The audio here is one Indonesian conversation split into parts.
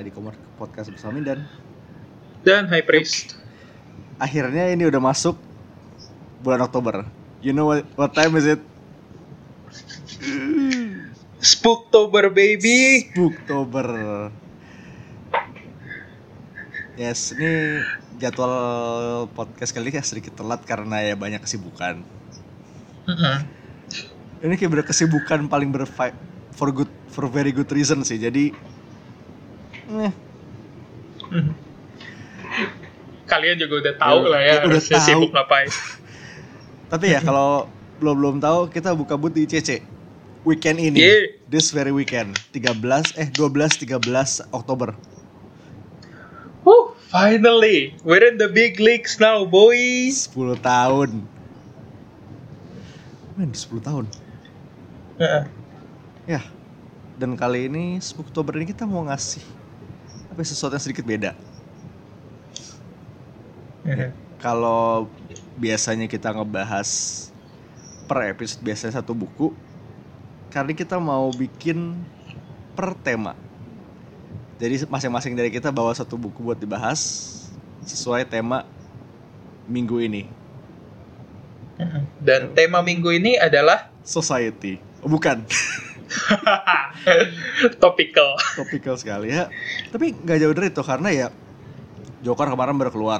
di podcast bersama Mindan dan High Priest. Akhirnya ini udah masuk bulan Oktober. You know what time is it? Spooktober baby. Spooktober. Yes, ini jadwal podcast kali ini sedikit telat karena ya banyak kesibukan. Ini kayak berkesibukan paling for very good reason sih. Jadi kalian juga udah tahu lah ya harusnya sibuk ngapain. Tapi ya kalau belum tahu, kita buka booth di ICC weekend ini. This very weekend 12-13 Oktober. Finally we're in the big leagues now, boys. 10 tahun. 10 tahun. Ya. Dan kali ini Spooktober ini kita mau ngasih sesuatu yang sedikit beda. Kalau biasanya kita ngebahas per episode biasanya satu buku, kali kita mau bikin per tema. Jadi masing-masing dari kita bawa satu buku buat dibahas sesuai tema minggu ini. Dan tema minggu ini adalah Society. Oh, bukan. Topical sekali ya. Tapi nggak jauh dari itu karena ya Joker kemarin baru keluar.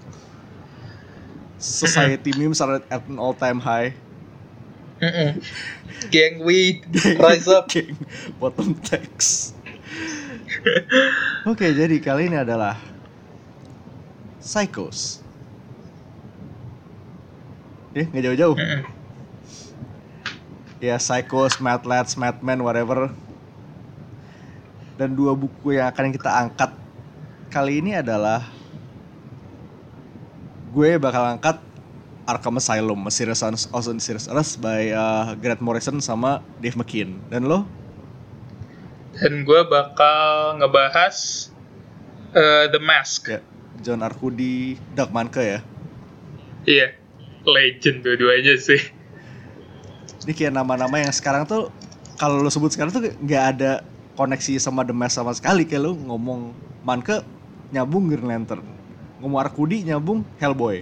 Society memes are at an all time high. Gang weed, rise up. Gang bottom text. Oke, jadi kali ini adalah Psychos. Nggak jauh-jauh. Ya, Psychos, Mad Lads, Mad Men, whatever. Dan dua buku yang akan kita angkat kali ini adalah, gue bakal angkat Arkham Asylum, a series by Grant Morrison sama Dave McKean. Dan lo? Dan gue bakal ngebahas The Mask. Ya, John Arcudi, Doug Mahnke ya. Iya, legend dua-duanya sih. Ini kayak nama-nama yang sekarang tuh kalau lo sebut sekarang tuh nggak ada koneksi sama The Mask sama sekali. Kayak lo ngomong Mahnke nyambung Green Lantern, ngomong Arcudi nyambung Hellboy.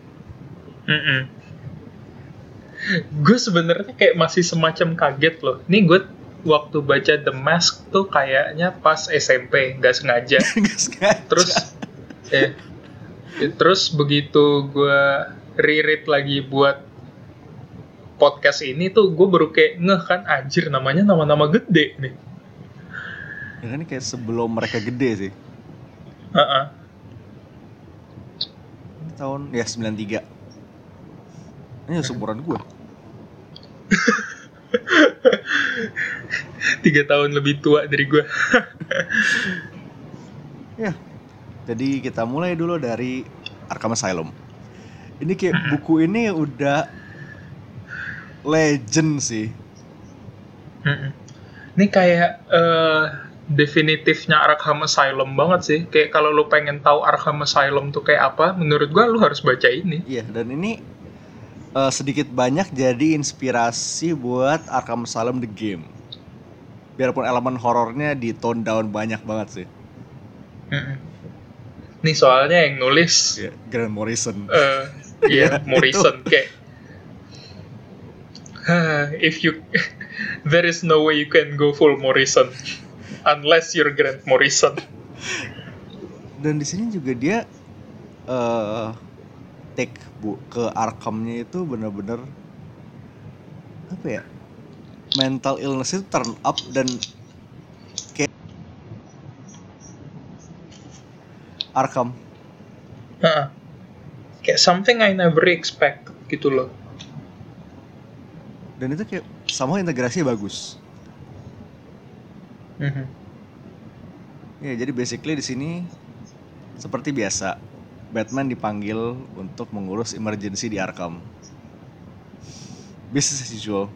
Gue sebenarnya kayak masih semacam kaget loh. Nih gue waktu baca The Mask tuh kayaknya pas SMP, nggak sengaja. Terus begitu gue reread lagi buat podcast ini tuh gue baru kayak ngeh kan, anjir namanya nama-nama gede nih. Ya kan kayak sebelum mereka gede sih. Tahun ya 93. Ini seumuran gue. 3 tahun lebih tua dari gue. Ya. Jadi kita mulai dulu dari Arkham Asylum. Ini kayak buku ini udah legend sih. Ini kayak definitifnya Arkham Asylum banget sih. Kayak kalau lu pengen tahu Arkham Asylum tuh kayak apa, menurut gue lu harus baca ini. Iya, dan ini sedikit banyak jadi inspirasi buat Arkham Asylum The Game. Biarpun elemen horornya di tone down banyak banget sih. Nih soalnya yang nulis Grant Morrison. Morrison kayak there is no way you can go full Morrison unless you're Grant Morrison. Dan di sini juga dia take ke Arkham-nya itu benar-benar apa ya, mental illness itu turn up dan kayak Arkham kayak something I never expect gitu loh. Dan itu kayak sama integrasinya bagus. Ya, jadi basically di sini seperti biasa Batman dipanggil untuk mengurus emergency di Arkham. Business as usual.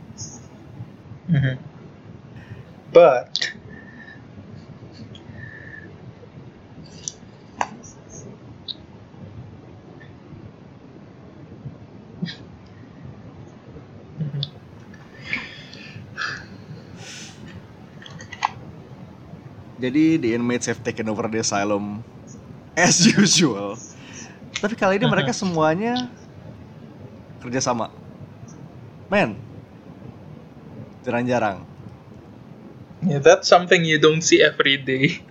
But Jadi the inmates have taken over the asylum as usual. Tapi kali ini mereka semuanya kerjasama. Men, jarang-jarang. Yeah, that's something you don't see every day.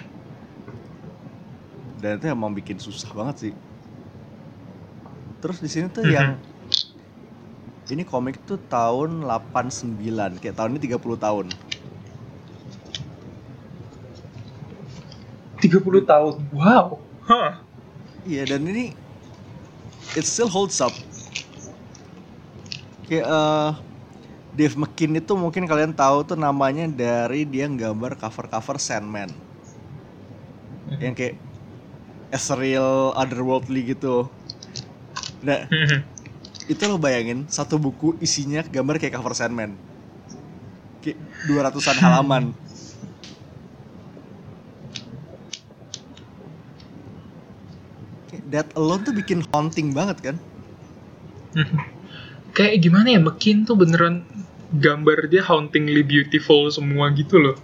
Dan itu emang bikin susah banget sih. Terus di sini tuh yang ini komik tuh tahun 89, kayak tahun ini 30 tahun. 30 tahun. Wow. Huh. Iya, dan ini it still holds up. Kayak Dave McKean itu mungkin kalian tahu tuh namanya dari dia nggambar cover-cover Sandman. Yang kayak ethereal, otherworldly gitu. Nah, itu lo bayangin satu buku isinya gambar kayak cover Sandman. Kayak 200-an halaman. That alone tuh bikin haunting banget kan? Kayak gimana ya, McKean tuh beneran gambar dia hauntingly beautiful semua gitu loh.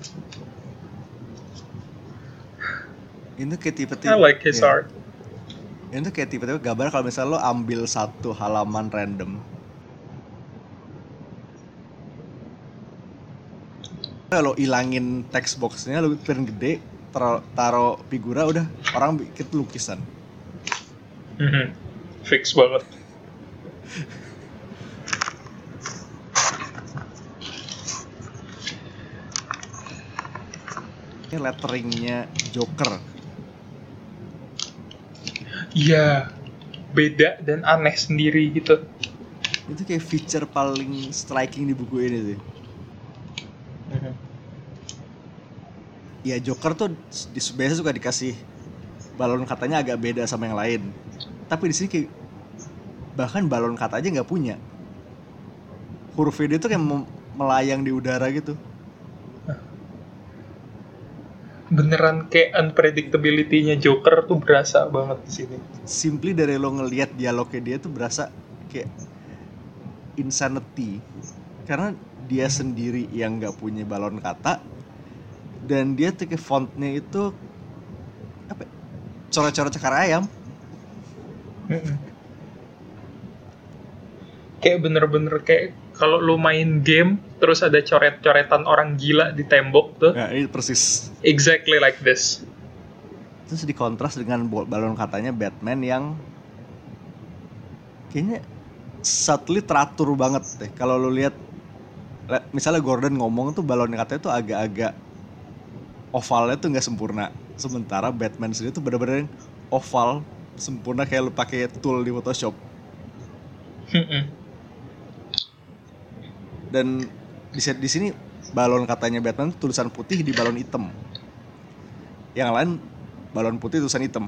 Itu kayak tipe-tipe I like his art. Itu kayak tipe-tipe gambar kalau misalnya lo ambil satu halaman random, kalau ilangin text boxnya, lo print gede, taruh figura, udah orang bikin lukisan. Fix banget. Ini letteringnya Joker. Iya, beda dan aneh sendiri gitu. Itu kayak feature paling striking di buku ini sih. Ya Joker tuh biasa suka dikasih balon katanya agak beda sama yang lain. Tapi di sini kayak bahkan balon kata aja nggak punya. Huruf dia tuh kayak melayang di udara gitu. Beneran kayak unpredictability-nya Joker tuh berasa banget di sini. Simply dari lo ngelihat dialognya dia tuh berasa kayak insanity. Karena dia sendiri yang nggak punya balon kata, dan dia tuh kayak fontnya itu apa? Coret-coret cakar ayam. Kayak bener-bener kayak kalau lu main game terus ada coret-coretan orang gila di tembok tuh. Nah, ini persis. Exactly like this. Terus dikontras dengan balon katanya Batman yang kayaknya subtly teratur banget deh. Kalau lu lihat misalnya Gordon ngomong tuh balon katanya tuh agak-agak ovalnya tuh nggak sempurna. Sementara Batman sendiri tuh bener-bener oval sempurna kayak lu pakai tool di Photoshop. Dan di sini balon katanya Batman tulisan putih di balon hitam. Yang lain balon putih tulisan hitam.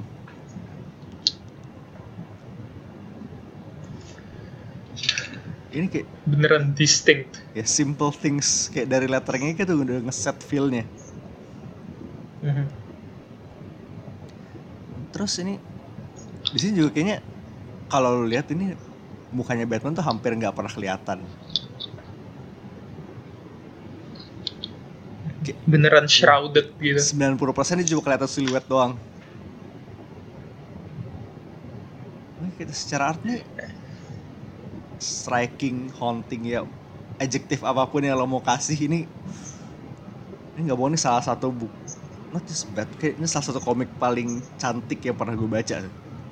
Ini kayak beneran distinct. Ya simple things kayak dari letteringnya kayak tuh udah ngeset feel-nya. Terus ini di sini juga kayaknya kalau lu lihat ini mukanya Batman tuh hampir nggak pernah kelihatan. Beneran shrouded gitu. 90% ini cuma kelihatan siluet doang. Ini kita secara art nih striking, haunting ya, adjektif apapun yang lo mau kasih ini nggak bohong, ini salah satu buku, not just bad, kayak ini salah satu komik paling cantik yang pernah gue baca.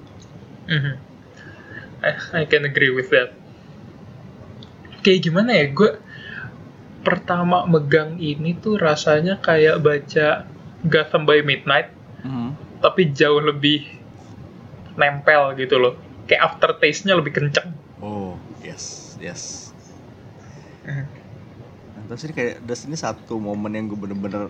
I can agree with that. Kayak gimana ya, gue pertama megang ini tuh rasanya kayak baca Gotham by Midnight, tapi jauh lebih nempel gitu loh. Kayak aftertaste-nya lebih kenceng. Oh, yes. Nah, terus ini kayak ini satu momen yang gue bener-bener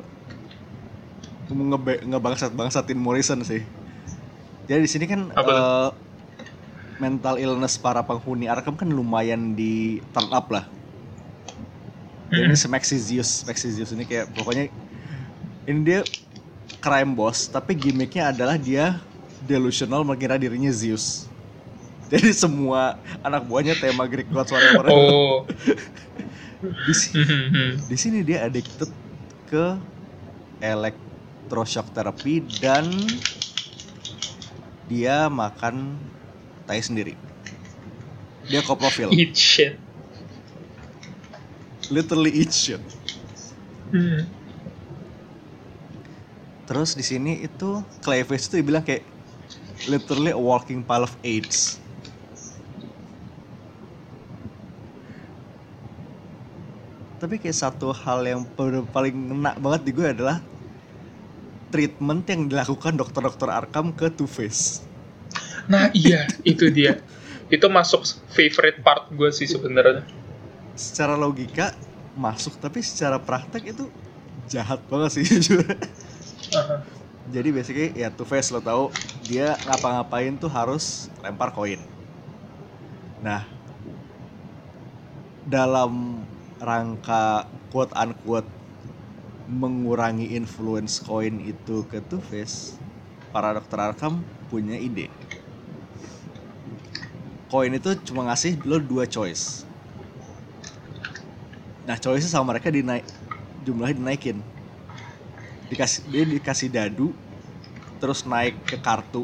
ngebangsatin Morrison sih. Jadi di sini kan mental illness para penghuni Arkham kan lumayan di turn up lah. Ini Maxizius ini kayak pokoknya ini dia crime boss, tapi gimmicknya adalah dia delusional mengira dirinya Zeus. Jadi semua anak buahnya tema Greek gods whatever. Oh. Di sini dia addicted ke electroshock therapy dan dia makan tai sendiri. Dia koprofil. Eat shit. Literally eat shit. Terus di sini itu Clayface tuh bilang kayak literally a walking pile of AIDS. Tapi kayak satu hal yang paling ngena banget di gue adalah treatment yang dilakukan dokter-dokter Arkham ke Two-Face. Nah iya, itu dia. Itu masuk favorite part gue sih sebenarnya. Secara logika masuk, tapi secara praktek itu jahat banget sih jujur. Jadi basically ya Two-Face lo tahu dia ngapa-ngapain tuh harus lempar koin. Nah, dalam rangka quote unquote mengurangi influence koin itu ke Two-Face, para dokter Arkham punya ide. Koin itu cuma ngasih lo 2 choice. Nah, choice sama mereka jumlahnya dinaikin. Dia dikasih dadu, terus naik ke kartu.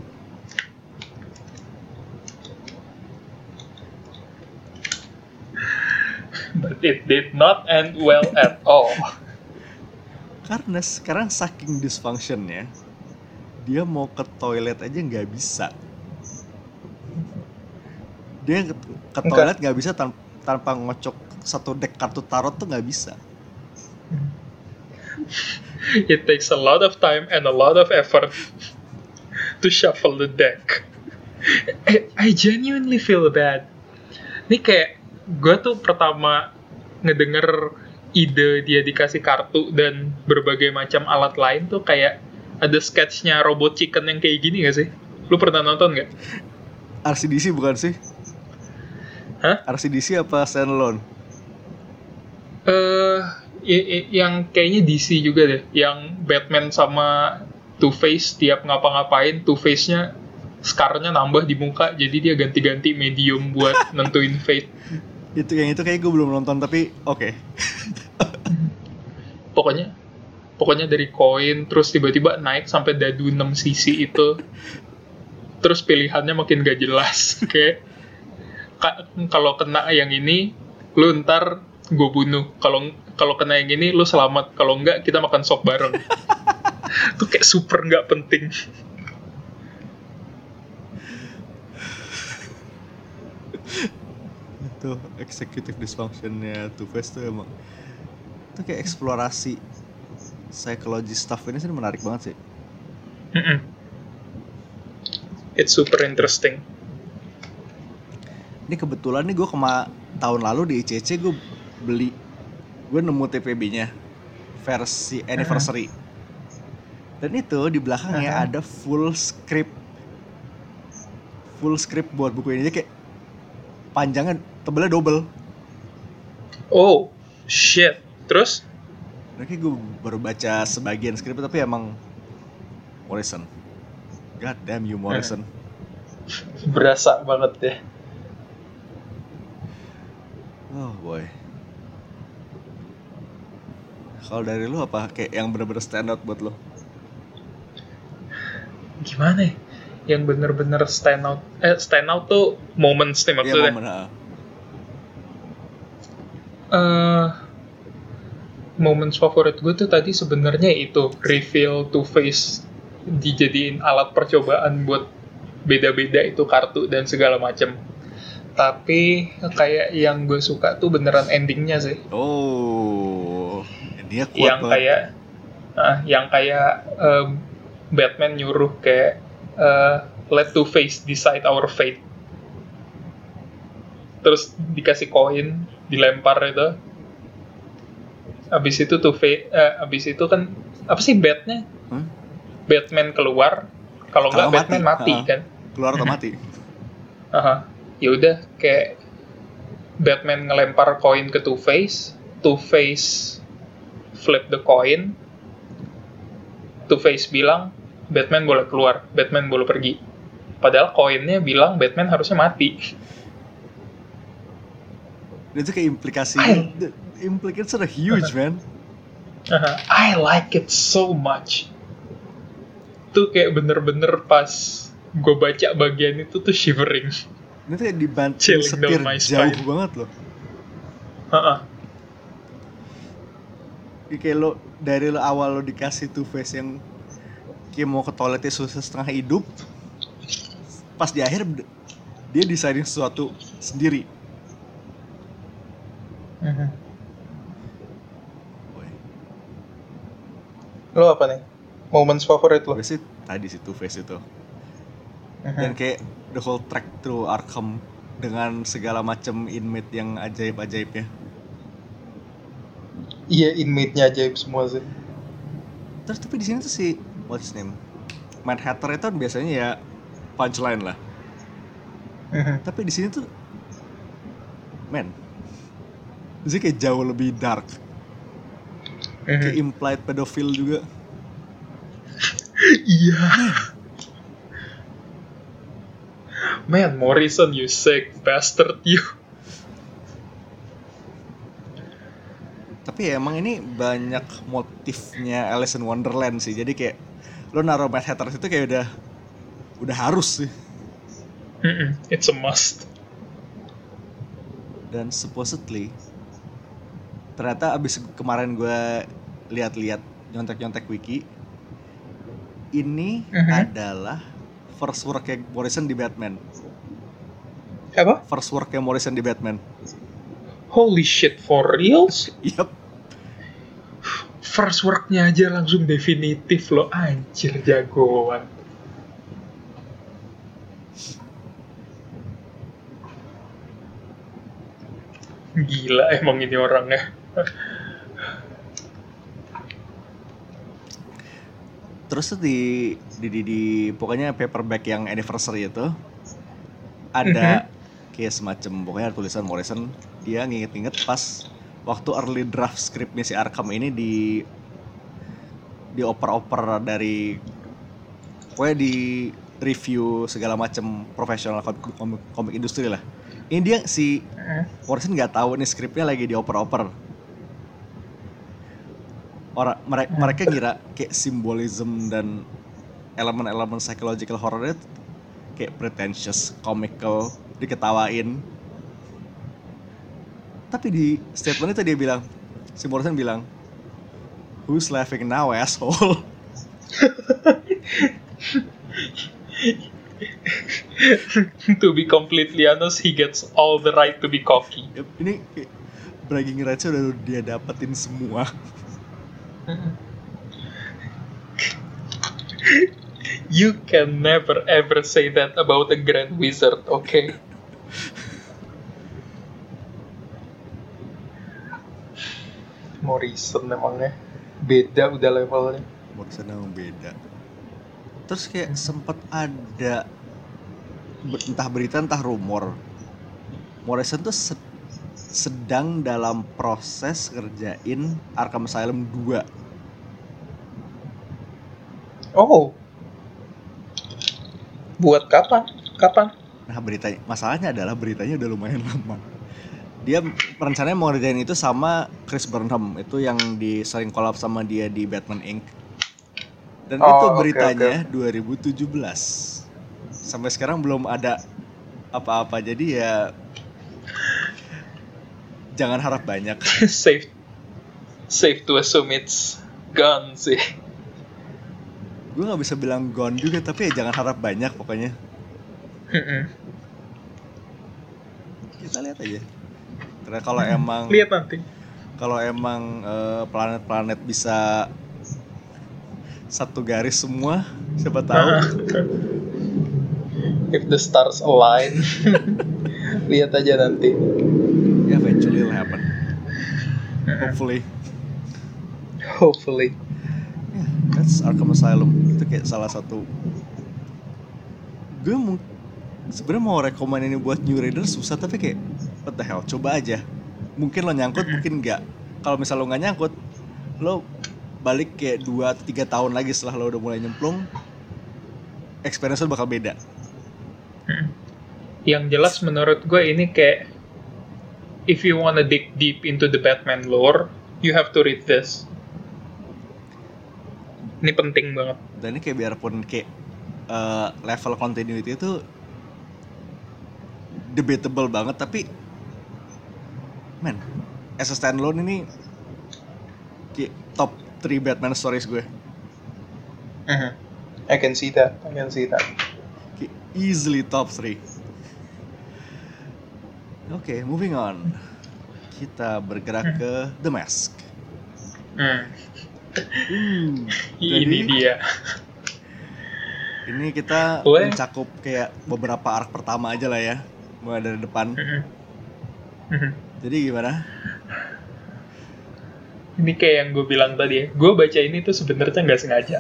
But it did not end well at all. Karena sekarang saking dysfunctionnya, dia mau ke toilet aja nggak bisa. Dia ke toilet nggak bisa tanpa ngocok satu deck kartu tarot tuh nggak bisa. It takes a lot of time and a lot of effort to shuffle the deck. I genuinely feel bad. Ini kayak gue tuh pertama ngedenger ide dia dikasih kartu dan berbagai macam alat lain tuh kayak ada sketchnya Robot Chicken yang kayak gini gak sih? Lu pernah nonton gak? RCDC bukan sih? Hah? RCDC apa standalone? Yang kayaknya DC juga deh. Yang Batman sama Two-Face tiap ngapa-ngapain, Two-Face-nya scar-nya nambah di muka, jadi dia ganti-ganti medium buat nentuin fate. Itu kayak gue belum nonton, tapi oke. Pokoknya dari koin terus tiba-tiba naik sampai dadu 6 cc itu. Terus pilihannya makin gak jelas. Kayak kalau kena yang ini lu ntar gue bunuh. Kalau kena yang ini lu selamat. Kalau enggak kita makan sop bareng. Itu kayak super gak penting. Itu executive dysfunction-nya Two-Face tuh emang itu kayak eksplorasi psikologi stuff ini sih menarik banget sih. It's super interesting. Ini kebetulan nih gue tahun lalu di ICC gue nemu TPB-nya versi anniversary. Dan itu di belakangnya ada full script buat buku ini, kayak panjangnya tebelnya double. Oh shit. Terus? Kayak gue baru baca sebagian skrip, tapi emang Morrison. God damn you Morrison. Berasa banget ya. Oh boy. Kalau dari lu apa kayak yang bener-bener stand out buat lu? Gimana ya? Yang bener-bener stand out tuh moments nih maksudnya. Iya, momen. Moments favorit gue tuh tadi sebenarnya itu reveal Two-Face dijadiin alat percobaan buat beda-beda itu kartu dan segala macem. Tapi kayak yang gue suka tuh beneran endingnya sih. Oh, dia kuat banget. Yang kayak Batman nyuruh kayak let Two-Face decide our fate. Terus dikasih koin, dilempar itu. Abis itu abis itu kan apa sih Batnya? Batman keluar, kalau nggak Batman mati kan? Keluar atau mati? Ya udah kayak Batman ngelempar koin ke Two-Face, Two-Face flip the coin, Two-Face bilang Batman boleh keluar, Batman boleh pergi. Padahal koinnya bilang Batman harusnya mati. Itu kayak implikasinya sort of huge, man. I like it so much. Tuh kayak bener-bener pas gue baca bagian itu tuh shivering. Ini tuh kayak dibanting Chilling setir down my jauh spine. banget loh. Heeh. Kayak lo dari lo awal lo dikasih Two Face yang kayak mau ke toiletnya susah setengah hidup, pas di akhir dia desainin sesuatu sendiri. Lo apa nih? Moments favorit lo? Gue sih tadi sih Two Face itu. Dan kayak the whole track through Arkham dengan segala macam inmate yang ajaib-ajaibnya. Iya, inmate-nya ajaib semua sih. Terus tapi di sini tuh si what's his name? Mad Hatter itu kan biasanya ya punchline lah. Tapi di sini tuh sih kayak jauh lebih dark. Kayak implied pedofil juga. Iya. Man, Morrison, you sick bastard, you. Tapi ya emang ini banyak motifnya Alice in Wonderland sih. Jadi kayak lo naruh Mad Hatter itu kayak udah harus sih. It's a must. Dan supposedly ternyata abis kemarin gue lihat-lihat nyontek-nyontek wiki, ini adalah first work-nya Morrison di Batman. Apa? First work-nya Morrison di Batman. Holy shit, for reals? Yup. First work-nya aja langsung definitif lo, anjir jagoan. Gila emang ini orangnya. Terus tuh di pokoknya paperback yang anniversary itu ada kayak semacam pokoknya tulisan Morrison, dia nginget-nginget pas waktu early draft scriptnya si Arkham ini dioper-oper dari pokoknya di review segala macam profesional komik industri lah. Ini dia si Morrison nggak tahu nih skripnya lagi dioper-oper. Mereka ngira kayak simbolism dan elemen-elemen psychological horror kayak pretentious, comical, diketawain. Tapi di statement itu dia bilang, si Morrison bilang, "Who's laughing now, asshole?" To be completely honest, he gets all the right to be cocky. Yep, ini bragging rights-nya udah dia dapetin semua. You can never ever say that about a Grand Wizard, okay? Morrison emangnya beda udah levelnya. Morrison emang beda. Terus kayak sempat ada entah berita entah rumor, Morrison tuh sedang dalam proses ngerjain Arkham Asylum 2. Oh. Buat kapan? Nah masalahnya adalah beritanya udah lumayan lama. Dia rencananya mau ngerjain itu sama Chris Burnham, itu yang sering collab sama dia di Batman Inc. Dan itu beritanya 2017. Sampai sekarang belum ada apa-apa, jadi ya jangan harap banyak. Safe to assume it's gone sih. Gue nggak bisa bilang gone juga, tapi ya jangan harap banyak pokoknya. Kita lihat aja. Karena kalau emang lihat nanti. Kalau emang planet-planet bisa satu garis semua, siapa tahu. If the stars align. Lihat aja nanti. Eventually it'll happen. Hopefully. Yeah, that's Arkham Asylum. Itu kayak salah satu. Gue sebenarnya mau rekomen ini buat new readers susah, tapi kayak what the hell, coba aja. Mungkin lo nyangkut, mungkin enggak. Kalau misal lo nggak nyangkut, lo balik kayak 2-3 tahun lagi setelah lo udah mulai nyemplung, experience lo bakal beda. Yang jelas menurut gue ini kayak, if you wanna dig deep into the Batman lore, you have to read this. Ini penting banget. Dan ini kayak biarpun kayak level continuity itu debatable banget, tapi man, as a standalone ini kayak top 3 Batman stories gue. I can see that. Kayak easily top 3. Oke, moving on. Kita bergerak ke The Mask. Ini dia. Ini kita mencakup kayak beberapa arc pertama aja lah ya, mulai dari depan. Jadi gimana? Ini kayak yang gue bilang tadi ya, gue baca ini tuh sebenarnya nggak sengaja.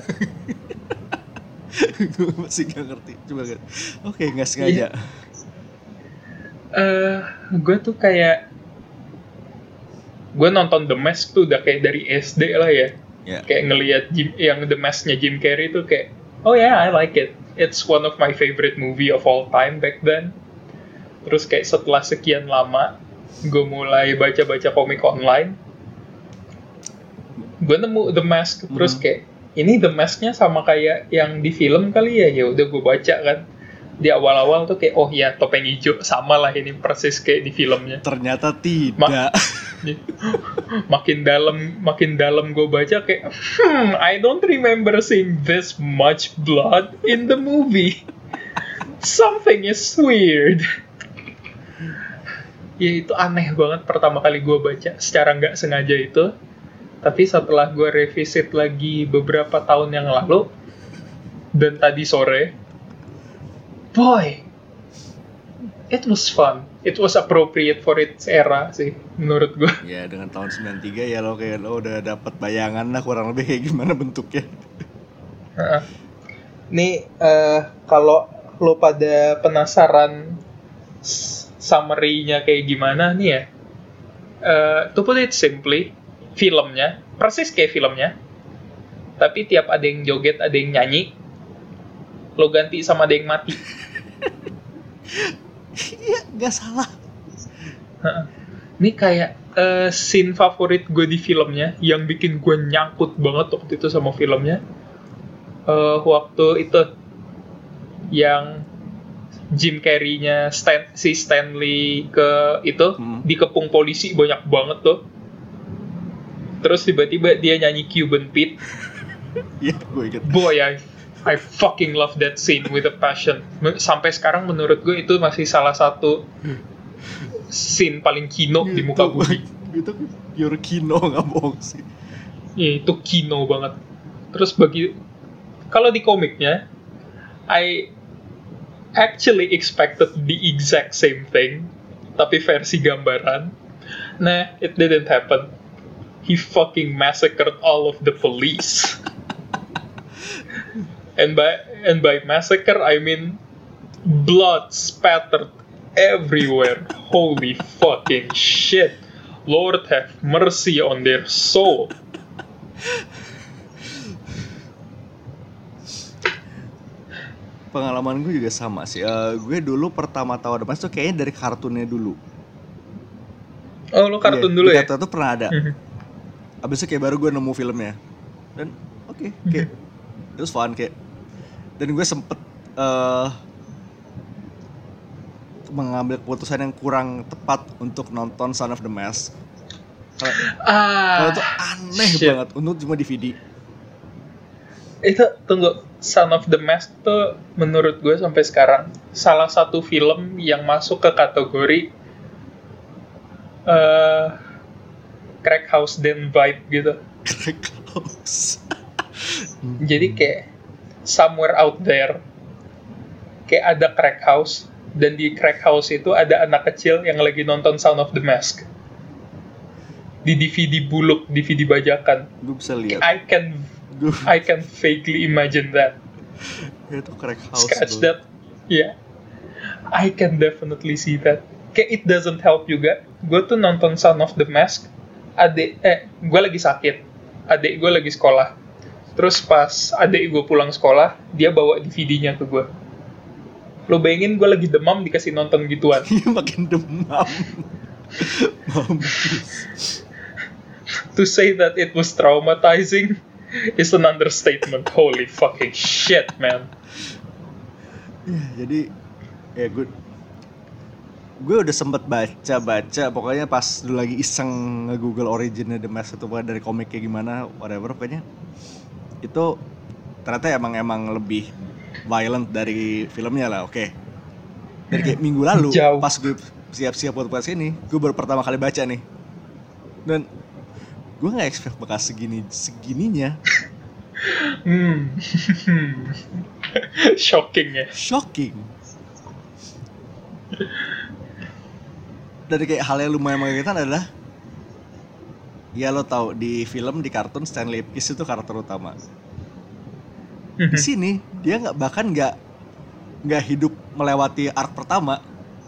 Gue masih nggak ngerti, coba kan? Oke, nggak sengaja. Gue tuh kayak gue nonton The Mask tuh udah kayak dari SD lah ya. Kayak ngelihat yang The Mask-nya Jim Carrey tuh kayak, oh yeah, I like it. It's one of my favorite movie of all time back then. Terus kayak setelah sekian lama, gue mulai baca-baca komik online. Gue nemu The Mask, terus kayak, ini The Mask-nya sama kayak yang di film kali ya. Ya udah gue baca kan. Di awal-awal tuh kayak, oh ya topeng hijau sama lah ini persis kayak di filmnya. Ternyata tidak. Makin dalam gue baca kayak, I don't remember seeing this much blood in the movie. Something is weird. Ya itu aneh banget pertama kali gue baca secara nggak sengaja itu. Tapi setelah gue revisit lagi beberapa tahun yang lalu dan tadi sore, boy, it was fun. It was appropriate for its era sih, menurut gue. Ya, dengan tahun 93 ya lo udah dapat bayangan lah kurang lebih kayak gimana bentuknya. Nih, kalau lo pada penasaran summary-nya kayak gimana nih ya, to put it simply, filmnya, persis kayak filmnya, tapi tiap ada yang joget, ada yang nyanyi, lo ganti sama ada yang mati. Iya, nggak salah. Ini kayak scene favorit gue di filmnya yang bikin gue nyangkut banget waktu itu sama filmnya. Waktu itu yang Jim Carrey-nya si Stanley ke itu dikepung polisi banyak banget tuh. Terus tiba-tiba dia nyanyi Cuban Pete. Iya, gue inget. Boy, I fucking love that scene with a passion. Sampai sekarang menurut gue itu masih salah satu scene paling kino di muka bumi. Itu pure kino, nggak bohong sih. Iya, itu kino banget. Terus kalau di komiknya, I actually expected the exact same thing, tapi versi gambaran. Nah, it didn't happen. He fucking massacred all of the police. And by massacre, I mean blood spattered everywhere. Holy fucking shit. Lord have mercy on their soul. Pengalaman gue juga sama sih. Gue dulu pertama tahu The Mask tuh kayaknya dari kartunnya dulu. Oh, lo kartun dulu ya? Kartun tuh pernah ada. Abis itu kayak baru gue nemu filmnya. Dan oke, kayak it was fun kayak. Dan gue sempet mengambil keputusan yang kurang tepat untuk nonton Son of the Mask. Kalau itu aneh banget untuk cuma DVD. Itu tunggu, Son of the Mask tuh menurut gue sampai sekarang salah satu film yang masuk ke kategori crack house den vibe gitu. Crack house. Jadi kayak somewhere out there kayak ada crack house, dan di crack house itu ada anak kecil yang lagi nonton Son of the Mask di DVD buluk, DVD bajakan. Gue bisa lihat. I can vaguely imagine that. Itu crack house. Scratch that. Yeah. I can definitely see that. Kayak it doesn't help juga. Gue tuh nonton Son of the Mask, gue lagi sakit, adik gue lagi sekolah. Terus pas adik gue pulang sekolah, dia bawa DVD-nya ke gue. Lo bayangin gue lagi demam dikasih nonton gituan. Makin demam. To say that it was traumatizing, is an understatement. Holy fucking shit, man. Ya, jadi ya gue udah sempet baca pokoknya pas dulu lagi iseng nge-google originnya The Mask itu dari komik kayak gimana, whatever, pokoknya itu ternyata emang lebih violent dari filmnya lah. Oke. Dari kayak minggu lalu Jauh. pas gue siap-siap buat podcast ini, gue baru pertama kali baca nih, dan gue nggak expect bakal segininya. Shocking. Dari kayak hal yang lumayan mengagetkan adalah, ya lo tau di film, di kartun Stanley Ipkiss itu karakter utama. Di sini dia nggak hidup melewati arc pertama.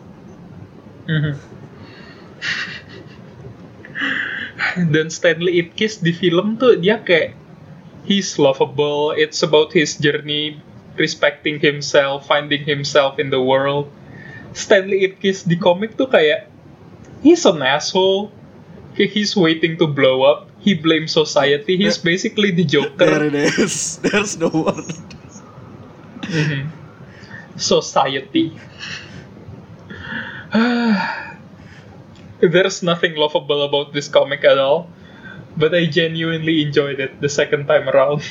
Dan Stanley Ipkiss di film tuh dia kayak he's lovable. It's about his journey, respecting himself, finding himself in the world. Stanley Ipkiss di komik tuh kayak he's an asshole. He's waiting to blow up. He blames society. He's basically the Joker. There it is. There's no word. Society. There's nothing lovable about this comic at all, but I genuinely enjoyed it the second time around.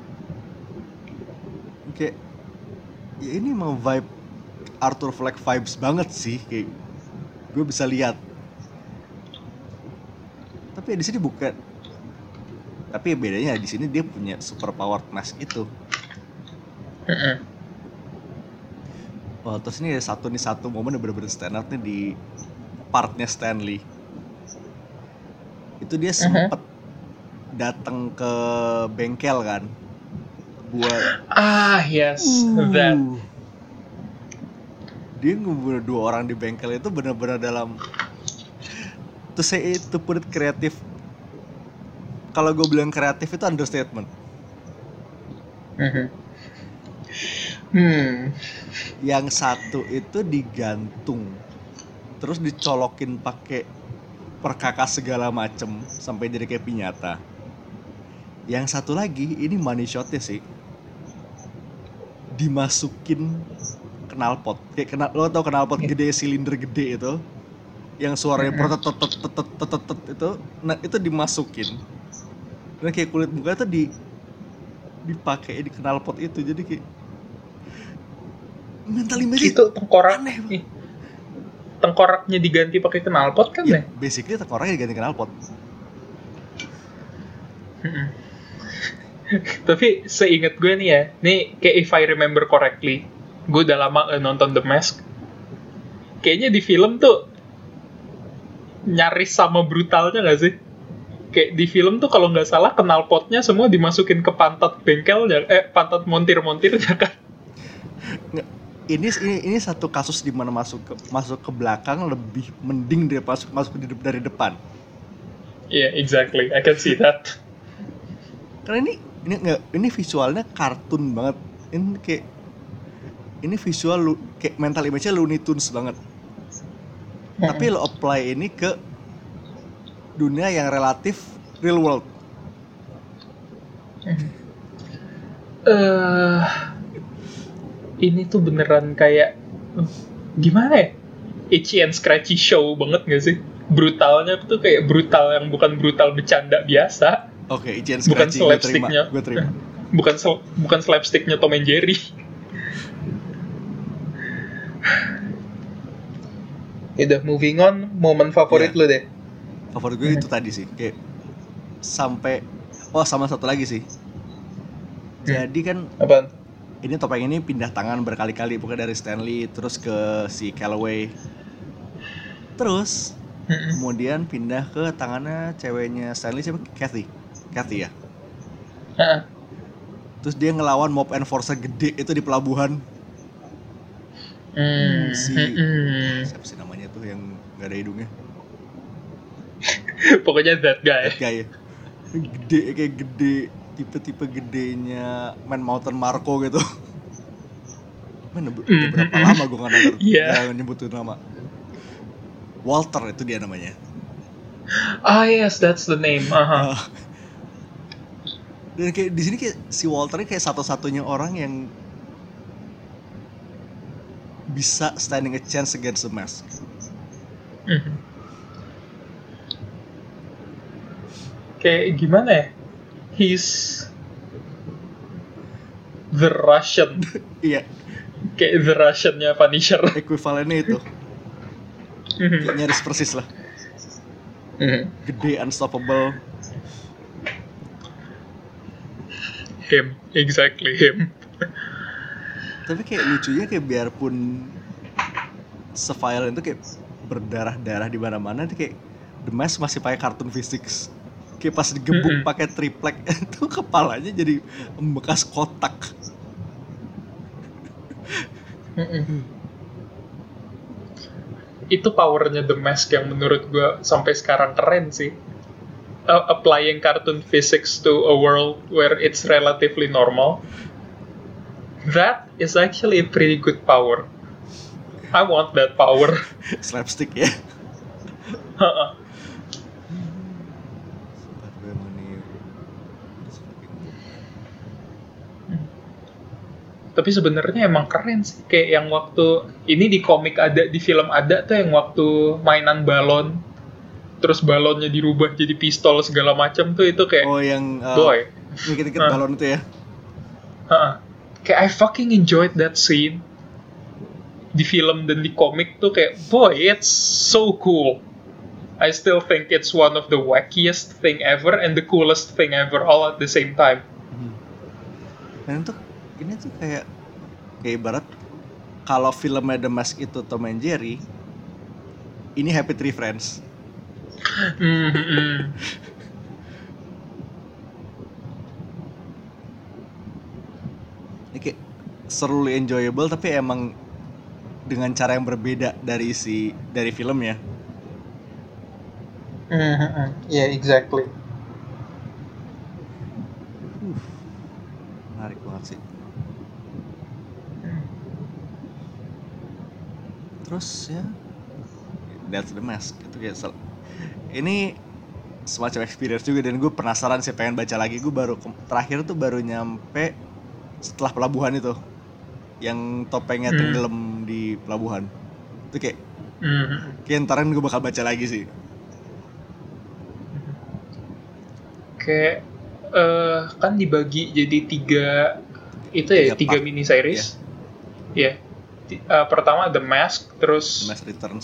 Oke. Ya ini mau vibe Arthur Fleck vibes banget sih, kayak gue bisa lihat. Tapi di sini bukan. Tapi bedanya di sini dia punya super powered mask itu. Oh, terus ini ada satu momen yang bener-bener stand out nih di partnya Stanley. Itu dia sempet datang ke bengkel kan, buat yes, that. Dia ngebunuh 2 orang di bengkel itu bener-bener dalam, to say it, to put it kreatif. Kalau gue bilang kreatif itu understatement. Yang satu itu digantung, terus dicolokin pakai perkakas segala macem sampai jadi kayak piñata. Yang satu lagi ini money shotnya sih, dimasukin knalpot. Kayak lo tau knalpot gede, silinder gede itu, yang suaranya protet itu, nah itu dimasukin. Dan kayak kulit muka itu dipakai di knalpot itu, jadi kayak mental image itu tengkoraknya diganti pakai knalpot kan ya? Basically tengkoraknya diganti knalpot. Tapi seingat gue nih ya, nih kayak if I remember correctly, gue udah lama nonton The Mask. Kayaknya di film tuh nyaris sama brutalnya gak sih? Kayak di film tuh kalau nggak salah knalpotnya semua dimasukin ke pantat bengkelnya, pantat montir-montirnya kan? Ini satu kasus di mana masuk ke belakang lebih mending dari masuk dari depan. Yeah, exactly. I can see that. Karena ini visualnya kartun banget. Ini visual kayak mental image-nya Looney Tunes banget. Tapi lo apply ini ke dunia yang relatif real world. Ini tuh beneran kayak gimana ya? Itchy and scratchy show banget gak sih? Brutalnya tuh kayak brutal yang bukan brutal bercanda biasa. Oke, itchy and scratchy, gue terima. Bukan slapsticknya Tom and Jerry. Udah, moving on, momen favorit lu deh. Favorit gue itu tadi sih, kayak sampai sama satu lagi sih. Jadi kan apaan? Ini topeng ini pindah tangan berkali-kali, bukan dari Stanley terus ke si Calloway. Terus kemudian pindah ke tangannya ceweknya Stanley, siapa? Kathy ya. Terus dia ngelawan mob enforcer gede itu di pelabuhan. Siapa sih namanya tuh yang nggak ada hidungnya? Pokoknya that guy ya. Gede, tipe gedenya Man Mountain Marco gitu. Udah berapa lama gue nggak nyebutin nama. Walter itu dia namanya. Yes, that's the name. Dan kayak di sini kayak si Walter kayak satu-satunya orang yang bisa standing a chance against the Mask. Kayak gimana ya? He's the Russian. Iya. Kayak the Russian-nya Punisher. Ekuivalennya itu. Kayak nyaris persis lah. Gede, unstoppable. Him, exactly him. Tapi kayak lucunya kayak biarpun se-violent itu kayak berdarah-darah di mana-mana, itu kayak The Mask masih pakai cartoon physics. Kayak pas digebuk pakai triplek itu kepalanya jadi bekas kotak. Itu powernya The Mask yang menurut gue sampai sekarang keren sih. Applying cartoon physics to a world where it's relatively normal. That is actually a pretty good power. I want that power. Slapstick ya. Tapi sebenarnya emang keren sih, kayak yang waktu ini di komik ada, di film ada tuh yang waktu mainan balon, terus balonnya dirubah jadi pistol segala macam tuh, itu kayak yang boy, dikit-dikit balon itu ya. Kayak I fucking enjoyed that scene di film dan di komik tuh, kayak boy, it's so cool. I still think it's one of the wackiest thing ever and the coolest thing ever all at the same time. Dan untuk ini tuh kayak ibarat kalau filmnya The Mask itu Tom and Jerry, ini Happy Tree Friends. Ini kayak seruly enjoyable tapi emang dengan cara yang berbeda dari filmnya. Yeah, exactly. Menarik banget sih. Terus ya, that's The Mask. Itu kayak ini semacam experience juga, dan gue penasaran sih, pengen baca lagi. Gue terakhir tuh baru nyampe setelah pelabuhan itu, yang topengnya tenggelam di pelabuhan. Itu kayak ntaran gue bakal baca lagi sih. Kayak kan dibagi jadi tiga mini series. Ya. Pertama The Mask, terus The Mask Returns.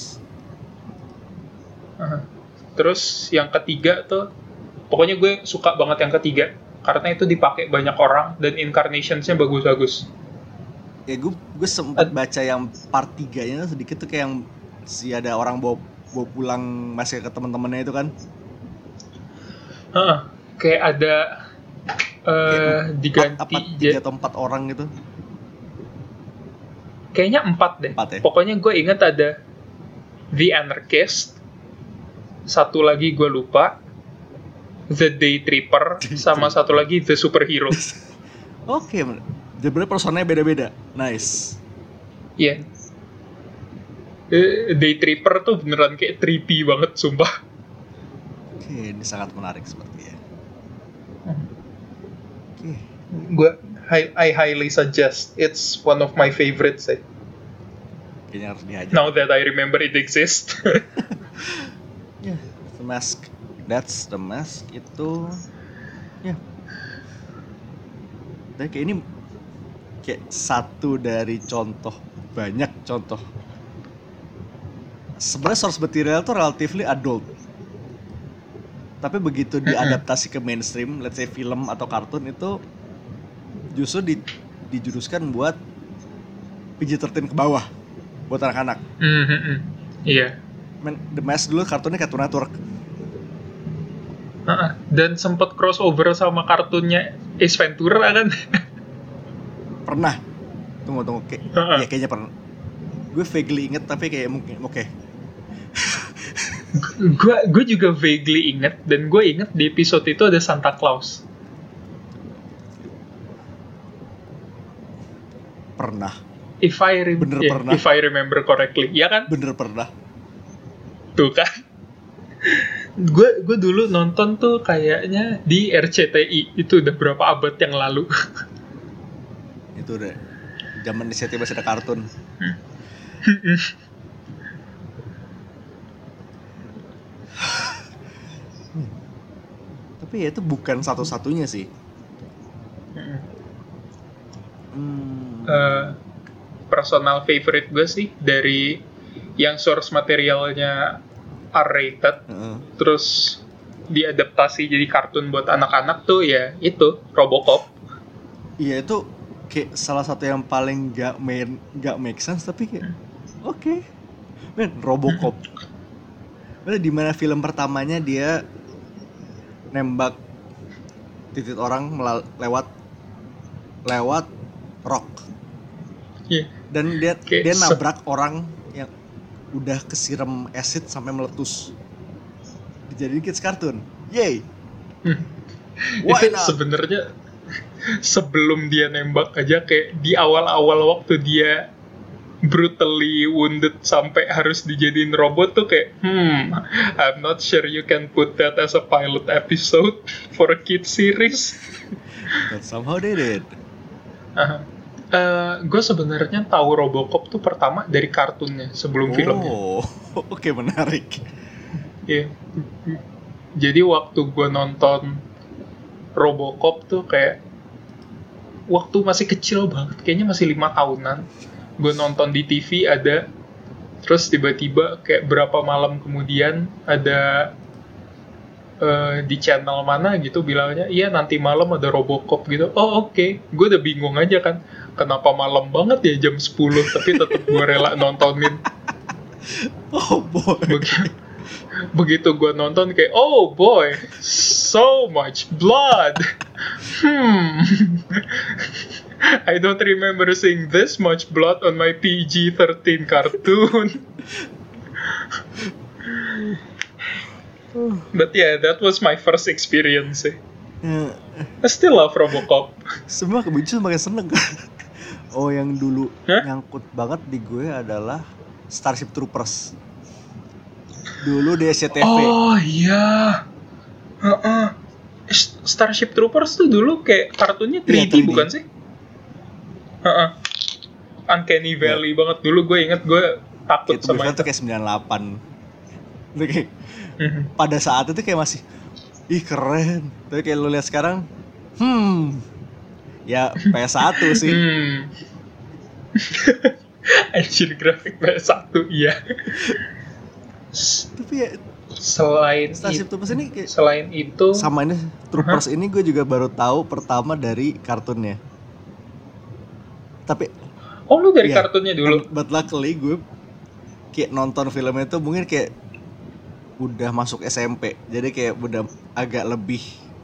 Terus yang ketiga tuh, pokoknya gue suka banget yang ketiga karena itu dipakai banyak orang dan incarnationsnya bagus-bagus. Ya gue sempat baca yang part 3-nya sedikit tuh, kayak yang ada orang bawa pulang masih ke teman-temannya itu kan. Kayak ada diganti 3 atau 4 orang gitu. Kayaknya 4 deh. 4 ya? Pokoknya gue ingat ada The Anarchist, satu lagi gue lupa, The Day Tripper, sama satu lagi The Superhero. Oke, jadi personanya beda-beda. Nice. Iya. Day Tripper tuh beneran kayak trippy banget, sumpah. Oke, ini sangat menarik sepertinya. Oke. I highly suggest. It's one of my favorites. Kayaknya harus dihajar. Now that I remember it exists. Yeah, The Mask. That's The Mask itu. Ya. Dan kayak ini kayak satu dari banyak contoh. Sebenarnya source material tuh relatively adult. Tapi begitu diadaptasi ke mainstream, let's say film atau kartun, itu justru dijuruskan buat PG-13 ke bawah, buat anak-anak. Iya. The Mask dulu kartunnya Cartoon Network. Dan sempat crossover sama kartunnya Ace Ventura kan? Pernah. Tunggu. Ya kayaknya pernah. Gue vaguely inget tapi kayak mungkin oke. Gue juga vaguely inget, dan gue inget di episode itu ada Santa Claus. Pernah. If I remember correctly, ya kan? Bener pernah. Tuh kan. Gue dulu nonton tuh kayaknya di RCTI, itu udah berapa abad yang lalu. Itu udah zaman di CTV masih ada kartun. Tapi ya itu bukan satu-satunya sih. Personal favorite gue sih dari yang source materialnya R-rated, terus diadaptasi jadi kartun buat anak-anak tuh ya itu Robocop. Iya itu kayak salah satu yang paling gak make sense tapi kayak oke. Men, Robocop. Mana di mana film pertamanya dia nembak titik orang lewat rock. Yeah. Dan dia nabrak orang yang udah kesiram acid sampai meletus. Dijadiin kids kartun. Yay. Itu sebenarnya sebelum dia nembak aja kayak di awal-awal waktu dia brutally wounded sampai harus dijadiin robot tuh kayak I'm not sure you can put that as a pilot episode for a kid series. But somehow they did. Gue sebenarnya tahu Robocop tuh pertama dari kartunnya sebelum filmnya. Oke, menarik. Iya. Jadi waktu gue nonton Robocop tuh kayak waktu masih kecil banget, kayaknya masih 5 tahunan. Gue nonton di TV ada, terus tiba-tiba kayak berapa malam kemudian ada di channel mana gitu bilangnya, iya nanti malam ada Robocop gitu. Oh oke. Gue udah bingung aja kan, kenapa malam banget ya jam 10, tapi tetap gue rela nontonin. Oh boy. Begitu gue nonton kayak, oh boy, so much blood. I don't remember seeing this much blood on my PG-13 cartoon. But yeah, that was my first experience. I still love Robocop. Semua kebencian makin seneng. Oh, yang dulu nyangkut banget di gue adalah Starship Troopers. Dulu di SCTV. Oh iya. Starship Troopers tuh dulu kayak kartunnya 3D, 3D. Bukan sih? Uncanny Valley banget. Dulu gue inget gue takut kayak sama itu. Itu kayak 98. Itu kayak pada saat itu kayak masih keren. Tapi kayak lu lihat sekarang ya PS1 sih. Anjir, grafik PS1 iya. Tapi ya selain Starship Troopers ini kayak, selain itu sama ini Troopers ini gue juga baru tahu pertama dari kartunnya. Tapi lu dari kartunnya dulu. But luckily gue kayak nonton filmnya itu mungkin kayak udah masuk SMP, jadi kayak udah agak lebih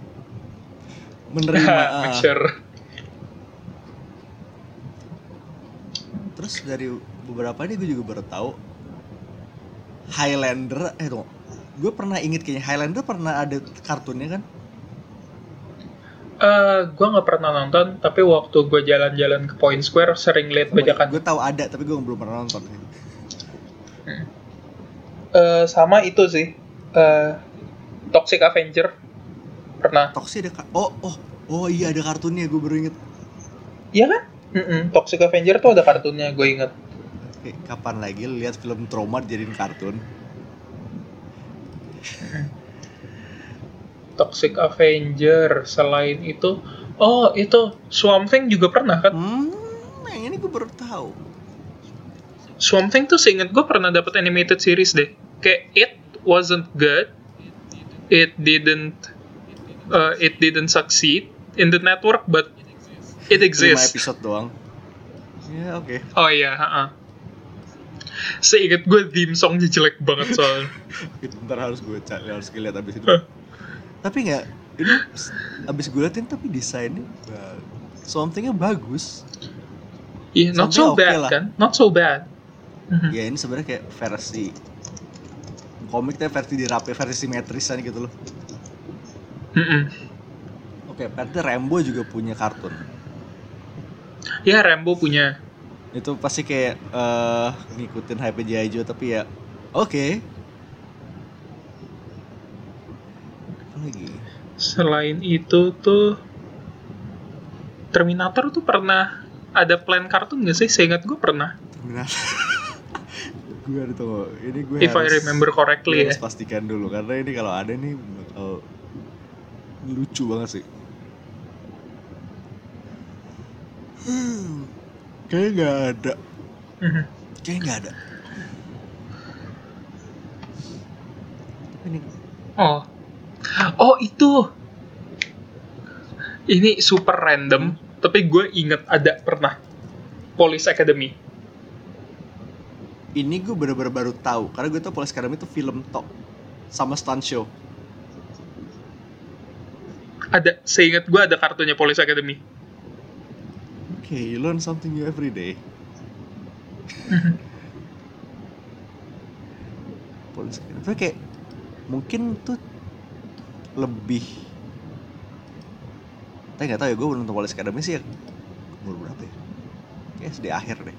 menerima. Mature. Terus dari beberapa ini gue juga baru tahu Highlander. Gue pernah inget kayaknya Highlander pernah ada kartunnya kan? Gue nggak pernah nonton, tapi waktu gue jalan-jalan ke Point Square sering lihat bajakan. Gue tahu ada, tapi gue belum pernah nonton. Sama itu sih, Toxic Avenger pernah. Toxic ada oh iya ada kartunnya, gue baru inget. Iya kan? Toxic Avenger tuh ada kartunnya, gue inget. Kapan lagi lihat film trauma jadiin kartun? Toxic Avenger. Selain itu, itu Swamp Thing juga pernah kan? Yang ini gue baru tahu. Swamp Thing tuh seinget gue pernah dapat animated series deh. Kayak it wasn't good, it didn't succeed in the network, but it exists. 5 episode doang. Ya oke. Oh iya, seinget gue theme songnya jelek banget soalnya. Ntar harus gue lihat abis itu. Tapi nggak, ini abis gue liatin tapi desainnya somethingnya bagus. Iya, not so bad lah. Kan? Not so bad. Ya ini sebenarnya kayak versi komiknya, versi dirapi, versi simetrisan gitu loh. Oke, berarti Rambo juga punya kartun. Ya, Rambo punya. Itu pasti kayak ngikutin hype G.I. Joe, tapi ya oke. lagi. Selain itu tuh Terminator tuh pernah ada plan kartun nggak sih? Seingat gue pernah. Terminator. Gue ada tuh. Ini gue If I remember correctly harus ya. pastikan dulu karena ini kalau ada nih bakal lucu banget sih. Kayaknya nggak ada. Kayaknya nggak ada. Ini. Oh itu. Ini super random, tapi gue inget ada pernah. Police Academy. Ini gue bener-bener baru tahu karena gue tau Police Academy itu film tok sama stunt show. Ada, seingat gue ada kartunya Police Academy. Okay, you learn something new every day. Police Academy. Tapi kayak mungkin tuh lebih. Tapi nggak tahu ya, gue belum nonton Police Academy sih ya. Umur berapa ya? Kayak SD akhir deh.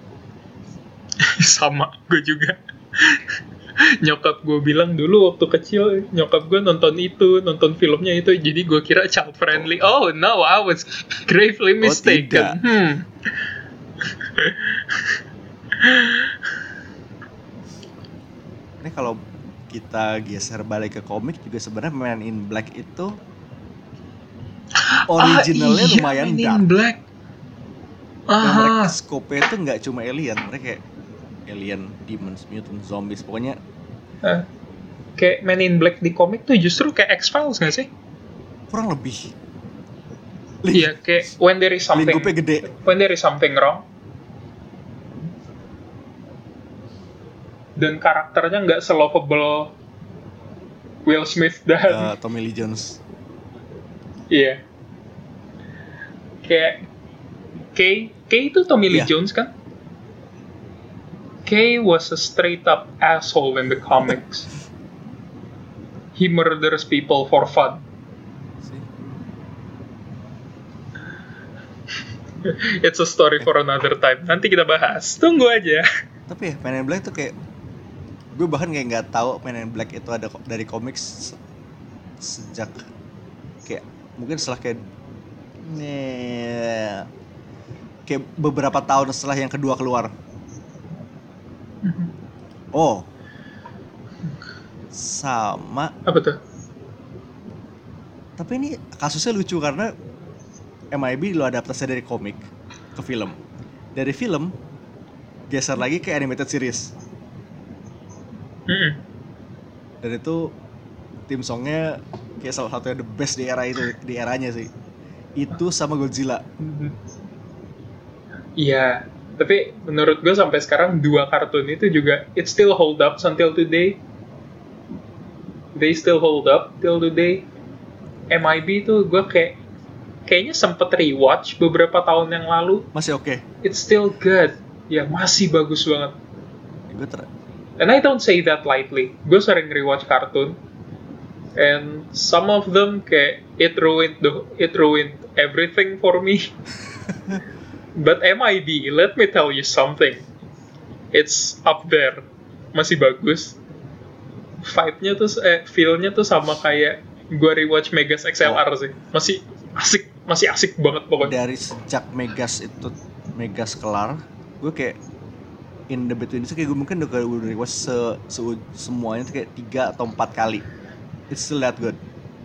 Sama, gue juga. Nyokap gue bilang dulu waktu kecil, nyokap gue nonton filmnya itu, jadi gue kira child friendly. Oh no, I was gravely mistaken. Ini kalau kita geser balik ke komik juga sebenarnya Men in Black itu originalnya lumayan Men dark. in Black. Yang mereka scope-nya itu nggak cuma alien, mereka kayak alien, demons, mutants, zombies, pokoknya. Kayak Men in Black di komik tuh justru kayak X-Files nggak sih? Kurang lebih. Iya, kayak when there is something wrong, dan karakternya nggak se-lovable Will Smith dan Tommy Lee Jones. Iya. Kayak Kay itu Tommy Lee Jones kan? Kay was a straight up asshole in the comics. He murders people for fun. It's a story for another time. Nanti kita bahas. Tunggu aja. Tapi ya Men in Black tuh kayak gue bahkan kayak nggak tahu Men in Black itu ada dari komik sejak kayak mungkin setelah kayak beberapa tahun setelah yang kedua keluar. Oh, sama. Apa tuh? Tapi ini kasusnya lucu karena MIB lo adaptasi dari komik ke film. Dari film geser lagi ke animated series. Dan itu theme songnya kayak salah satunya the best di era itu, di eranya sih. Itu sama Godzilla. Iya, tapi menurut gue sampai sekarang dua kartun itu juga it still hold up until today. They still hold up till today. MIB itu gue kayaknya sempet rewatch beberapa tahun yang lalu. Masih oke. It's still good. Ya, masih bagus banget. And I don't say that lightly. Gue sering rewatch kartun. And some of them kayak it ruined everything for me. But MIB, let me tell you something. It's up there. Masih bagus. Vibe-nya tuh, feel-nya tuh sama kayak gue rewatch Megas XLR sih. Masih asik banget pokoknya. Dari sejak Megas kelar, gue kayak in the between itu kayak gue mungkin udah rewatch semuanya tuh kayak 3 atau 4 kali. It's still that good.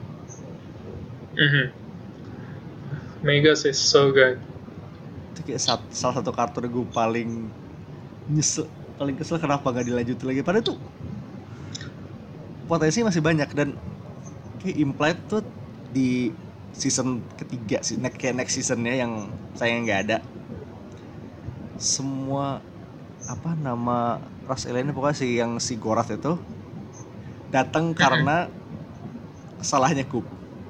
Megas is so good. Itu kayak salah satu kartun gue paling kesel kenapa gak dilanjutin lagi. Padahal tuh potensi masih banyak dan kayak implied tuh di season ketiga sih, kayak next seasonnya yang sayangnya nggak ada. Semua nama ras alien pokoknya si Gorath itu datang karena salahnya Coop.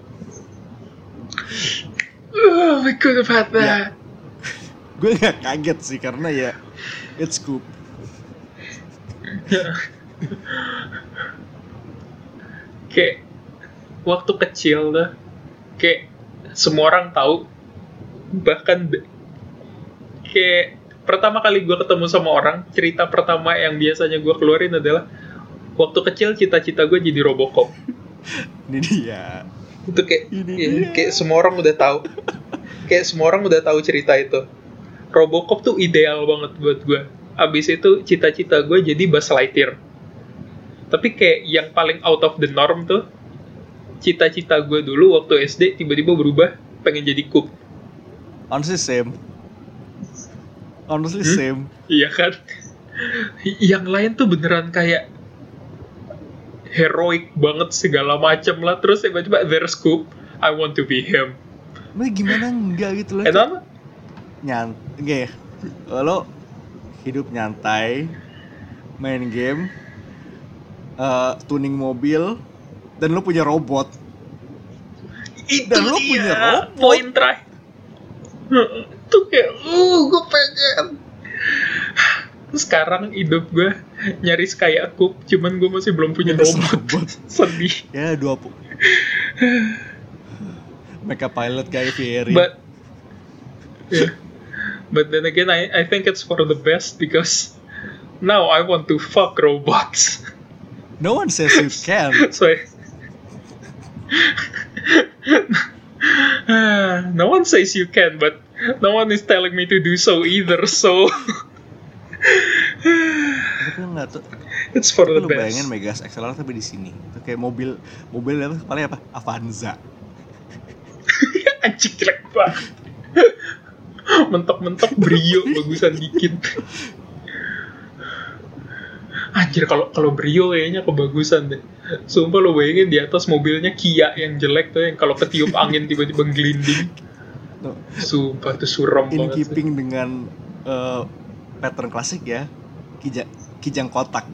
Oh, we could have had that. Ya. Gue nggak kaget sih karena ya it's Coop. Kayak waktu kecil tuh, kayak semua orang tahu, bahkan kayak pertama kali gue ketemu sama orang, cerita pertama yang biasanya gue keluarin adalah waktu kecil cita-cita gue jadi Robocop. Ini dia. Itu kayak semua orang udah tahu. Kayak semua orang udah tahu cerita itu. Robocop tuh ideal banget buat gue. Abis itu cita-cita gue jadi Buzz Lightyear. Tapi kayak yang paling out of the norm tuh, cita-cita gue dulu waktu SD tiba-tiba berubah pengen jadi Coop. Honestly same. Iya kan? Yang lain tuh beneran kayak heroik banget segala macam lah. Terus tiba-tiba there's Coop, I want to be him. Tapi gimana enggak gitu loh. Kenapa? Enggak ya. Lo hidup nyantai, main game, tuning mobil, dan lo punya robot. Itu dia poin terakhir. Itu kayak, gue pengen. Sekarang hidup gue nyaris kayak Coop, cuman gue masih belum punya robot. Sedih. Ya 20. Mecha pilot Guy Fieri. But then again, I think it's for the best because now I want to fuck robots. No one says you can. No one says you can, but no one is telling me to do so either. So it's for the best. Lu bayangin Megas XLR tapi di sini. Itu kayak mobil apa kepalanya apa? Avanza. Anjing jelek banget. Mentok-mentok Brio bagusan dikit. Anjir, kalau Brio kayaknya kebagusan deh. Sumpah lo bayangin di atas mobilnya Kia yang jelek tuh, yang kalau ketiup angin tiba-tiba gelinding. Sumpah tuh suram banget. In keeping dengan pattern klasik ya, kijang kotak.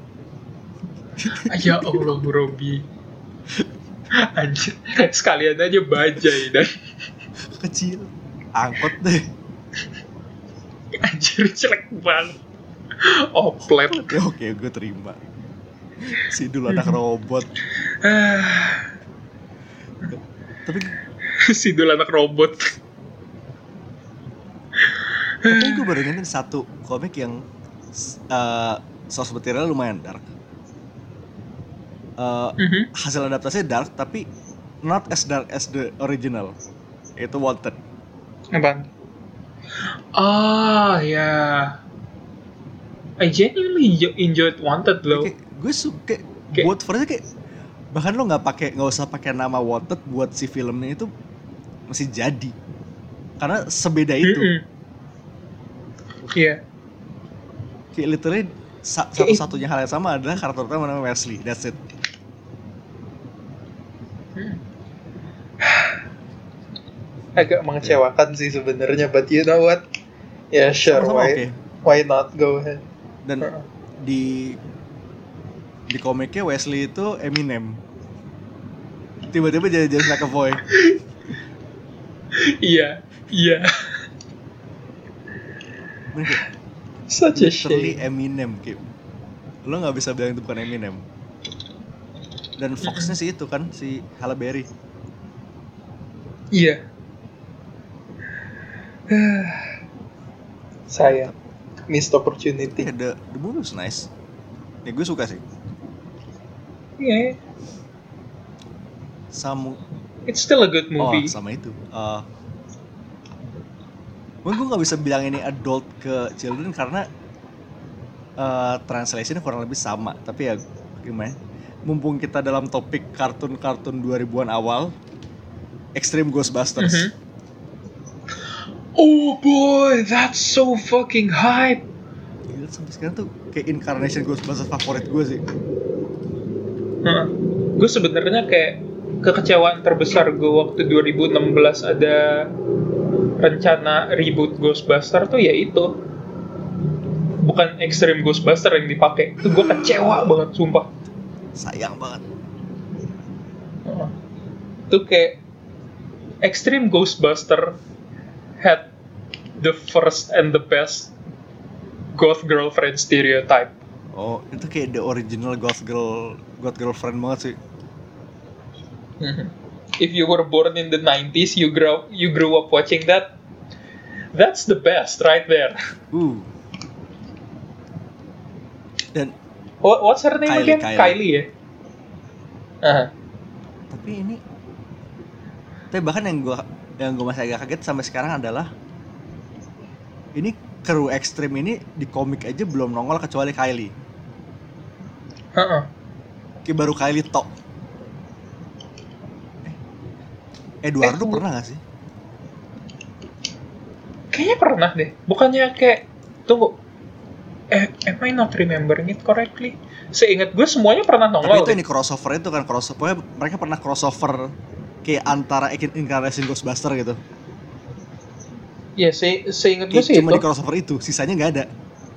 Ya Allah, Robi. Anjir, sekalian aja bajai dan kecil. Angkot deh. Anjir, jelek banget. Oplet. Ya oke, gue terima. Si dulu anak robot. Tapi si dulu anak robot. Tapi gue baru ingetin satu komik yang source material lumayan dark. Hasil adaptasinya dark, tapi not as dark as the original. Itu Wanted. Apaan? Ya. I genuinely enjoyed Wanted loh. Gue suka buat versi kayak bahkan lo nggak usah pakai nama Wanted buat si filmnya itu masih jadi karena sebeda itu. Iya. Kayak literally satu-satunya hal yang sama adalah karakter utama namanya Wesley. That's it. Agak mengecewakan sih sebenarnya, but you know what? Yeah, sure. Why not? Go ahead. Dan di komiknya Wesley itu Eminem. Tiba-tiba jadi James McAvoy. Iya. Such a shame. Eminem, kayak lo nggak bisa bilang itu bukan Eminem. Dan Fox-nya sih itu kan si Halle Berry. Iya. Sayang, missed opportunity. The movie was nice. Ya gue suka sih. Iya. It's still a good movie. Sama itu. Gue nggak bisa bilang ini adult ke children karena translation-nya kurang lebih sama. Tapi ya gimana? Mumpung kita dalam topik kartun-kartun 2000-an awal, Extreme Ghostbusters. Oh boy, that's so fucking hype. Gila, sampai sekarang tuh kayak incarnation Ghostbusters favorit gue sih. Gue sebenarnya kayak kekecewaan terbesar gue waktu 2016 ada rencana reboot Ghostbusters tuh ya itu. Bukan Extreme Ghostbusters yang dipakai. Itu gue kecewa banget, sumpah. Sayang banget. Itu kayak Extreme Ghostbusters had the first and the best goth girlfriend stereotype. Oh, itu kayak the original goth girlfriend banget sih. If you were born in the 90s, you grew up watching that. That's the best right there. Dan what's her name again? Kylie ya. Tapi bahkan yang gue masih agak kaget sampai sekarang adalah ini kru ekstrim ini di komik aja belum nongol kecuali Kylie. Kayak baru Kylie tok. Eduardo pernah gak sih? Kayaknya pernah deh. Bukannya kayak tunggu. Am I not remembering it correctly? Seingat gue semuanya pernah nongol. Tapi itu ini crossover itu kan crossover. Mereka pernah crossover kayak antara incarnation Ghostbuster gitu. Ya, seingat gue sih cuma itu. di crossover itu, sisanya nggak ada.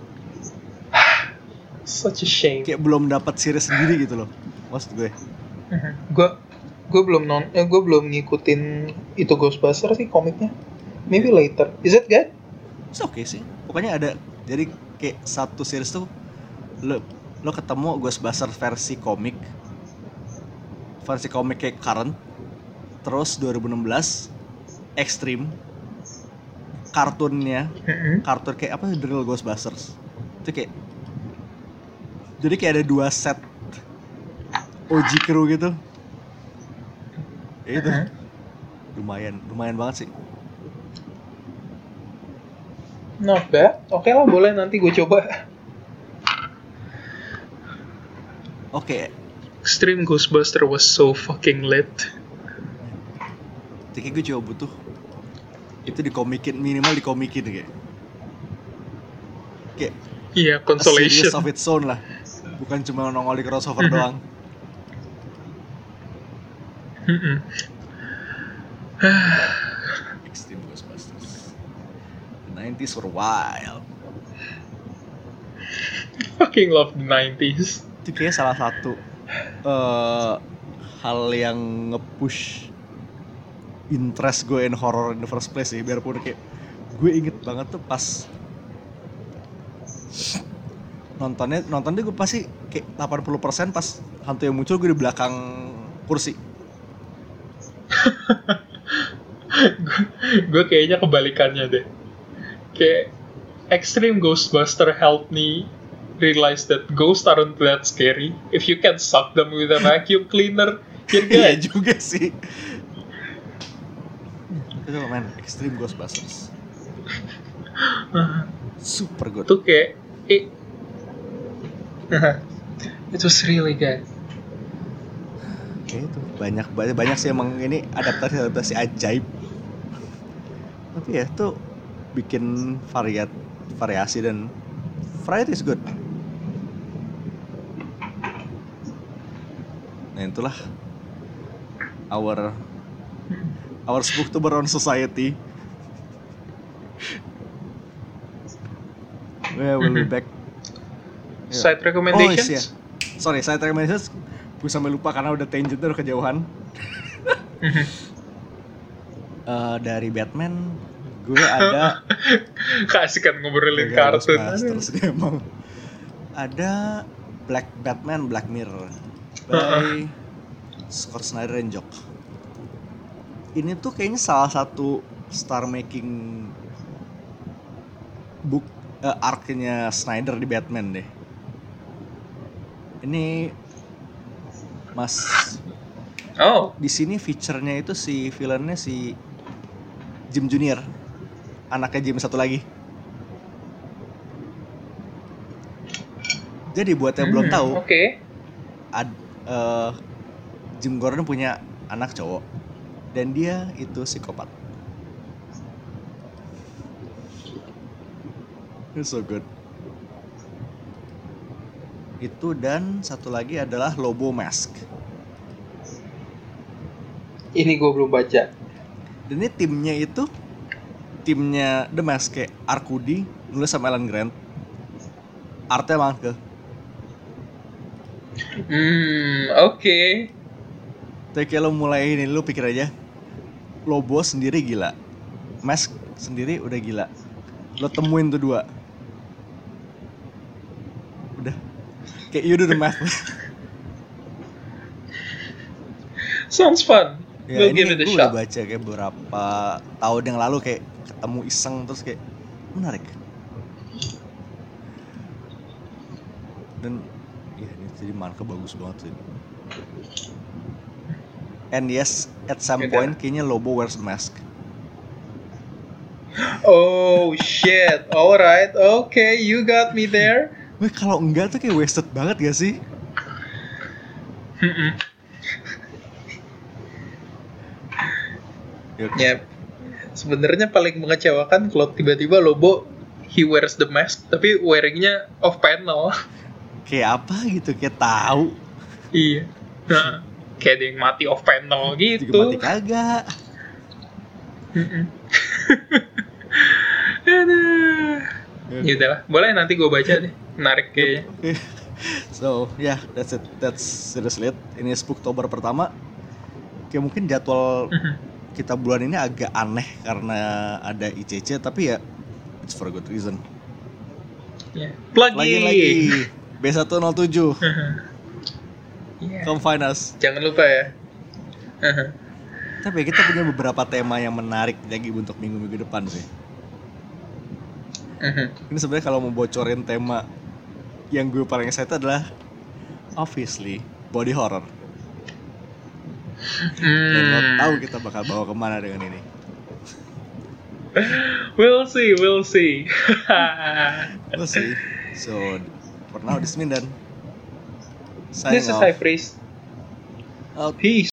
Such a shame. Kayak belum dapat series sendiri gitu loh, maksud gue. Gue belum ngikutin itu Ghostbuster sih komiknya. Maybe later. Is it good? It's okay sih. Pokoknya ada. Jadi kayak satu series tuh lo ketemu Ghostbuster versi komik kayak current. Terus 2016 Extreme kartunnya, kartun kayak apa, The Real Ghostbusters. Itu kayak jadi kayak ada 2 set OG crew gitu. Itu lumayan banget sih. Not bad. Oke lah, boleh, nanti gue coba. Oke. Extreme Ghostbuster was so fucking lit. Jadi gue coba butuh itu minimal dikomikin kayak Iya, consolation. A series of its own lah. Bukan cuma nongol di crossover doang. Extreme Ghostbusters. The 90s were wild. Fucking love the 90s. Itu kayak salah satu hal yang nge-push interest gue in horror in the first place sih. Biarpun kayak gue inget banget tuh pas nontonnya gue pasti kayak 80% pas hantu yang muncul gue di belakang kursi. Gue kayaknya kebalikannya deh. Kayak Extreme Ghostbuster helped me realize that ghosts aren't that scary. If you can suck them with a vacuum cleaner, you're good. Iya juga sih. Itu man, Extreme Ghostbusters. Super good. Tuh kayak it was really good. Kayak itu banyak sih emang ini adaptasi ajaib. Tapi ya tuh bikin variasi dan variety is good. Nah itulah our Spooktober on Society. We'll be back. Side recommendations? Oh, iya. Sorry, side recommendations. Gue sampai lupa karena udah tangentnya udah kejauhan. Dari Batman, gue ada keasikan ngobrolin kartun. Terus dia emang ada Batman Black Mirror by Scott Snyder and Jock. Ini tuh kayaknya salah satu star making book arc-nya Snyder di Batman deh. Ini di sini feature-nya itu si villain-nya si Jim Junior, anaknya Jim satu lagi. Jadi buat yang belum tahu, Jim Gordon punya anak cowok dan dia itu psikopat. It's so good. Itu dan satu lagi adalah Lobo Mask. Ini gue belum baca. Dan ini timnya The Mask kayak Arkudi nulis sama Alan Grant. Artnya banget ke. Oke. Tapi kayak lo mulai ini, lo pikir aja Lobo sendiri gila, Mask sendiri udah gila, lo temuin tuh dua, udah kayak you do the math. Sounds fun. Ya, ini gue udah baca kayak beberapa tahun yang lalu, kayak ketemu iseng terus kayak menarik. Dan ya ini jadi marka bagus banget sih. And yes, at some Yaudah. point kayaknya Lobo wears a mask. Oh shit, alright, okay, you got me there. Weh, kalau enggak tuh kayak wasted banget gak sih? Ya, sebenarnya paling mengecewakan kalau tiba-tiba Lobo he wears the mask tapi wearingnya off panel. Kayak apa gitu, kayak tahu. Iya. Nah, kayak ada yang mati off panel gitu. Juga mati kagak. Aduh. Ya udahlah, boleh nanti gue baca deh. Menarik kayaknya. So, yeah, that's it. That's seriously it. Ini Spooktober pertama. Kayak mungkin jadwal kita bulan ini agak aneh karena ada ICC, tapi ya it's for a good reason. Yeah. Plug Lagi B107. Yeah. Come find us. Jangan lupa ya. Tapi kita punya beberapa tema yang menarik lagi untuk minggu-minggu depan sih. Ini sebenarnya kalau mau bocorin tema yang gue paling excited adalah obviously body horror. Dan lo tahu kita bakal bawa kemana dengan ini. We'll see. We'll see. So for now, this is Mindan. This is High Priest. Out. Peace.